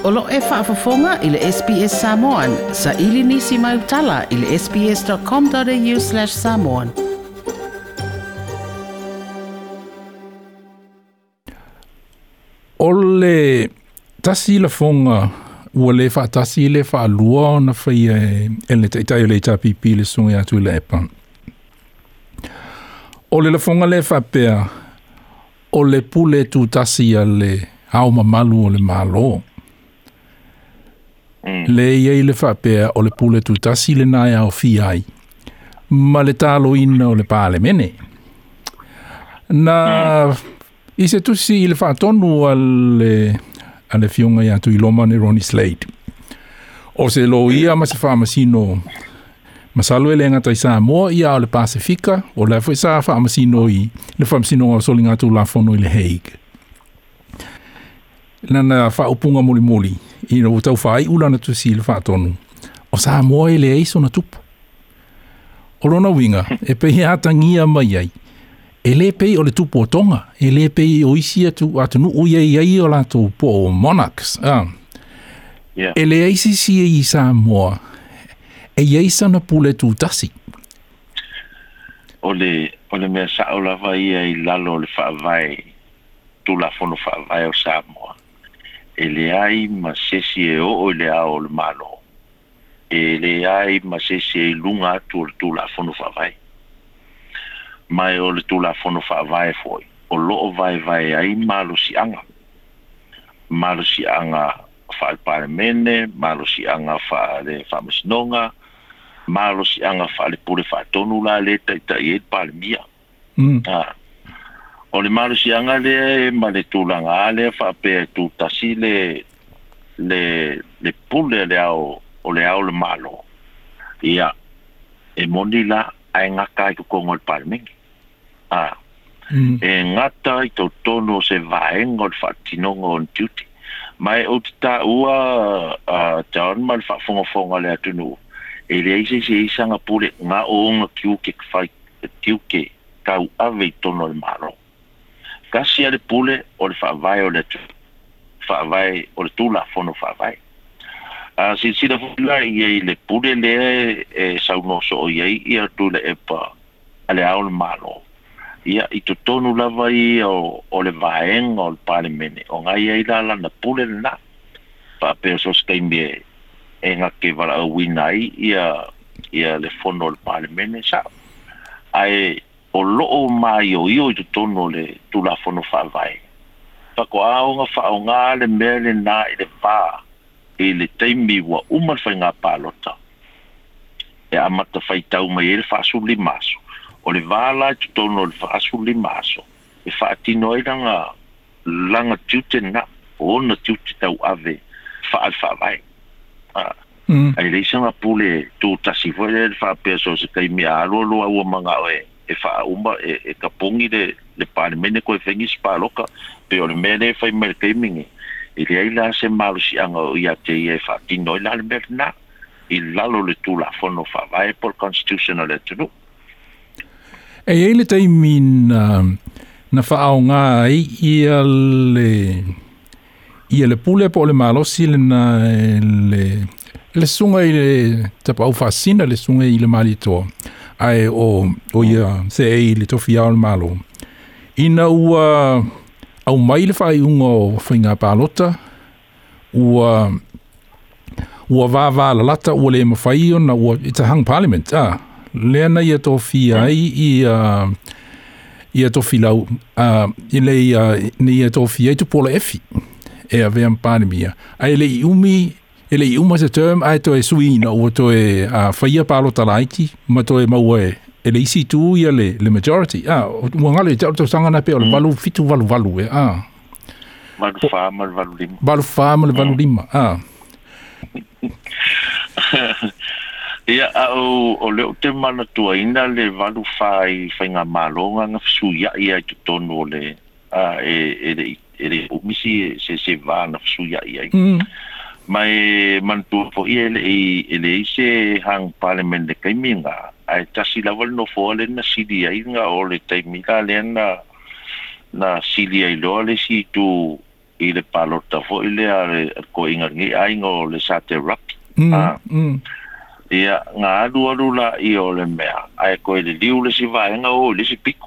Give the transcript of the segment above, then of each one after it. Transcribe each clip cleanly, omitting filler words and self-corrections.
Olo e whaafafonga i le SBS Samoan. Sa ili nisi mai utala i le sbs.com.au/Samoan. Ole tasi la fonga ua le whaatasi le whaalua na whai e le taitai le tapipi le sunga atu le epa. Ole la fonga le whapea o le pule tu tasi a le hao mamalu o le malo. Le iei le whapea o le pule tu tasi le nai au fiai. Ma le talo ina o le pāle mene. Na i se tusi i le whaatonu a le fionga i atu i loma ni Ronnie Slade. O se lo ia ma se whaamasino masalo e le ngata i Samoa ia o le Pasifika o le fwoi sa whaamasino i le whaamasino o soli ngatu la fono i le Hague. Nana whaupunga muli muli i na utau whai ulana tusi i le whaatonu. O Samoa e le eiso na tupu. O rona winga e pehi atangia mai ai. E le pei o le tupu o tonga. E le pei o isi atu atunu iai o lato po o monarchs. Yeah. E le eisi si i Samoa. E eisa na pule tu tasi. O le mea sa o lava ia i lalo le whaavai. Tu la fono whaavai o Samoa. E le ai ma sesi e o le ao le malo. E le ai ma sesi e lunga atu o le tu la fono whaavai. Mai o le tula fono whaavai foi. O loo vai ai malo si anga. Malo si anga whaal paremene, malo si anga whaale whamasinonga, malo si anga whaale pure whaatonu la le tai e palemia. O le malo si anga le ma le tulanga ale whaapea tu tasi le pule le ao o le ao le malo. Ia, e moni la ai ngaka i kukongo le parmengi. E ngata i tau tono se vaenga o le whaatinonga o ntiuti. Mai o te ta ua taon ma le whaafonga le atunu. E le eise se isanga pule ngā oonga kiuke kwhai kiuke kau ave i tono le maro. Kasi a le pule o le whaavai o le atunu. Whaavai o le tula fono whaavai. Si la fula i le pule le e saunoso o iei i atu le epa ale ao le malo. Ia i to tonu lava i o le vaenga o le palemene. O ngai ei la na pule le na. Whapea so skaimi e ngake wala au winai ia le fono le palemene sa. Ai o loo mai o io i to tonu le tula fono whaavai. Whako aonga whaonga le mele na i le vaa. E le taimi wa umar whai ngā pālota. E amata whai tau mai e le whaasuli maso. O le wāla tu tono le whaasuli maso. E whaatino e langa tiute na. O na tiute tau ave whaal whaavai. Ai leisanga pule tu tasi whai le whaapea so se taimi a alo ua manga e whaauma e kapongi le pālemene koe whengis pāloka. Pe o le mele whai mai keimingi. I le aila se malo si anga o ia te ia whaatino i lale merna. I lalo le tula fono whaavai por constitutional e tunu. E eile taimi na whaao ngā ia le pule po le malosi le sunga i le tapa au whaasina le sunga i le malitoa. Ai o ia se e le tofi au le malo. Ina ua au mai le whai unga o whainga pālota, ua wāwā la lata, ua le mawhai ona, ua it's a hung parliament, Leana ia tofi ai ia tofi lau, ni ia tofi ai tu pola efi, e a vea mpānemia. Ai le i uma se term, ai to e suina, ua to e whaia pālota laiti, ma to e maua e le isi tu ia le majority. Ua ngale, tau sangana pe o le valu fitu valu e. Valu whāma le valu lima. Valu whāma le valu lima, Ia o leo te mana tua ina le valu whai ngā mālonga ngā whasuia ia i tonu o le e le umisi se vāna whasuia ia. Mai mantua po ia e le ise hang parliament le kaiminga. Ai tasi lawal no fo le na sidi ai nga o le taimika le na sili ai lo le si tu i le palota fo i le ko inga ngi aingo le sate rapi. Ia ngā alu la i o le mea. Ai koe le liu le si vaenga o le si piku.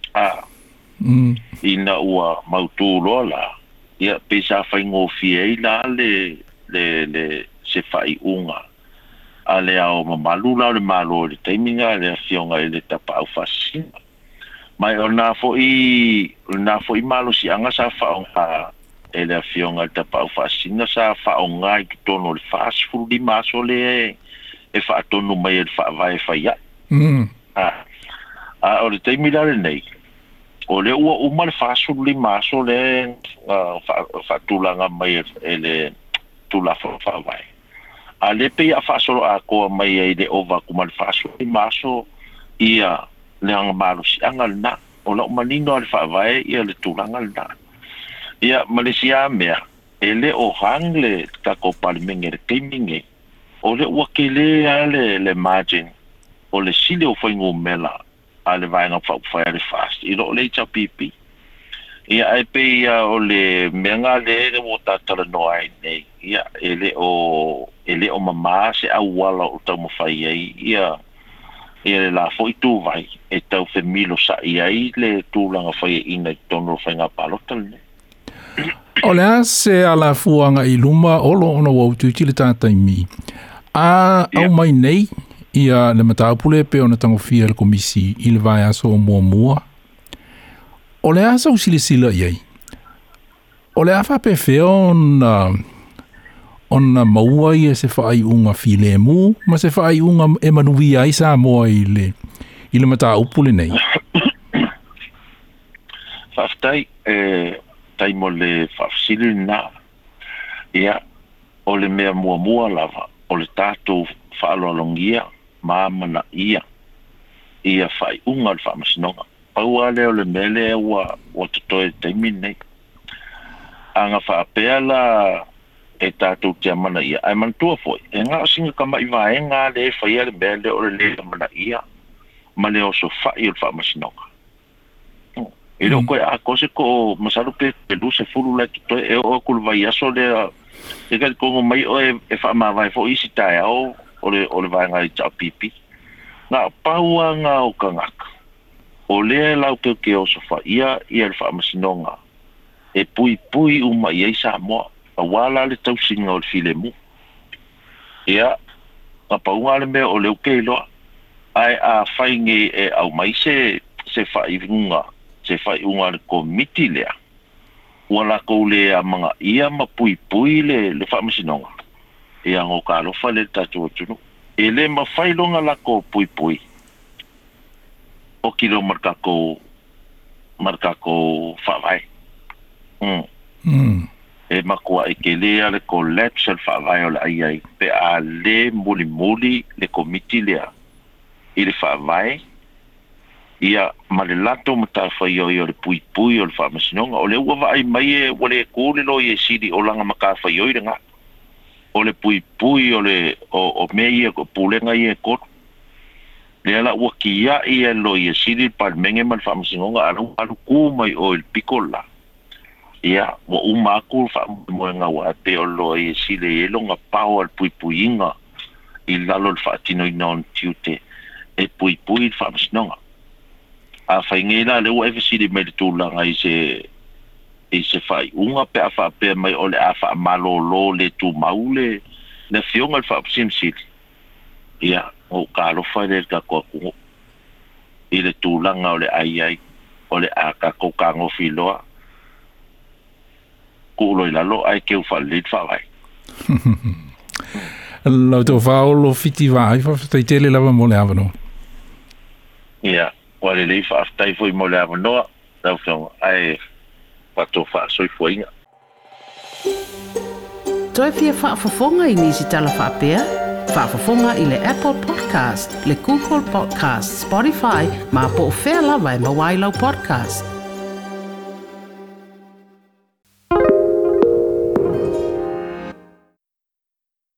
Ina ua mautu loa la. Ia pesa whaingo fie i la le se whai unga. A le ao mamalu la le malo le teiminga le fionga i le tapa au fasina. Mai o nā fo i malo si anga sa whaonga e le fionga le tapa au fasina sa whaonga i tono le fast food di maso le e whaatonu mai e whaavai whaia. O le teimila le nei. O le ua uma le fast food di maso le whaatulanga mai e le tula whaavai. A le pe a whaasoro a koa mai e le ova kuma le fast food di maso ia le hanga malu si anga le na. O la umanino le whaavai ia le tulanga le na. Ia Malaysia mea e le o hang le tako palimenge le keiminge. O le ua ke le margin o le sile o whaingo mela a le vaenga whauwhai le fast. I lo le cha pipi. Ia ai pe ia o le menga le o tatara no ai nei. Ia ele o mama se au wala o tau mawhai ai. Ia le la fo i tu vai e tau femilo sa i ai le tūlanga whai ina i tono whainga palota le. O lea se ala fuanga i luma olo ona wau tuti le tātai mi. Au mai nei ia le mataupule pe ona tango fia le komisi i le vai aso o mua. O lea sa usile iai. O lea whape feo ona maua i e se whaai unga file mu, ma se whaai unga e manuvi ai sa moa i le mataupule nei. Whaftai taimo le whafsili na ia o le mea mua lava o le tātou whaalolongia māmana ia whai unga le whaamasinonga paua leo le mele ua totoe taimi nei anga whaapea la e tātou te amana ia ai mantua foi e ngā singa kama i vaenga le whaia le mele o le amana ia ma leo so whai o le whaamasinonga e lo koe a kose ko masaru pe lu se fulu la to e o kul vai aso le e ka ko mai o e fa ma vai fo isi tai o le vai ngai cha pipi na paua nga o kangaka o le la ke o so fa ia le fa masinonga e pui uma ia sa mo a wala le tau singa o le filemu ia a paua le me o le ke lo ai a fainge e au mai se fa ivinga se fai unga le komiti lea. Wala kou lea mga ia mapui le whaamasinonga. E ango ka alofa le tatu atunu. E le mawhai longa lako pui. O kilo markako whaavai. E makua e ke lea le collapse al whaavai o le ai. Pe a le muli le komiti lea. I le whaavai. Ia malelato mata fai o le pui o le whaamasinonga. O le ua vai mai e wale kōle lo i e siri o langa maka fai o i renga. O le pui o le o mei e pūlenga i e koto. Le ala ua kia i e lo i e siri palmenge ma le whaamasinonga alu kū mai o il pikola. Ia wa umaku whaamasinonga wa te o lo i e siri e longa pao al pui inga i lalo le whaatino i non tiute e pui il whaamasinonga. A whaingela le ua efesiri me le tūlanga i se whai unga pe a whaapea mai o le a wha malolo le tū maule le fionga le whaapasimsiri. Ia, o ka alofa le ka kua kungo i le tūlanga o le ai o le a ka kokango filoa kuulo i lalo ai keu whalit whawai. Lau tō whaolo fiti wai whawhataitele lava mo le awano. Ia. Wale le whaaftai fwy mo le awa noa, tau whionga, ai wato whaasoi fwyinga. Toi fia whaafafonga i nisi tala whaapea? Whaafafonga i le Apple Podcast, le Google Podcast, Spotify, ma po whea lawa e mawailau podcast.